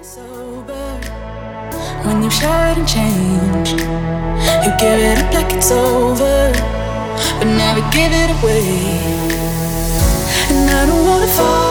Sober, when you've showered and changed, you give it up like it's over, but never give it away. And I don't wanna fall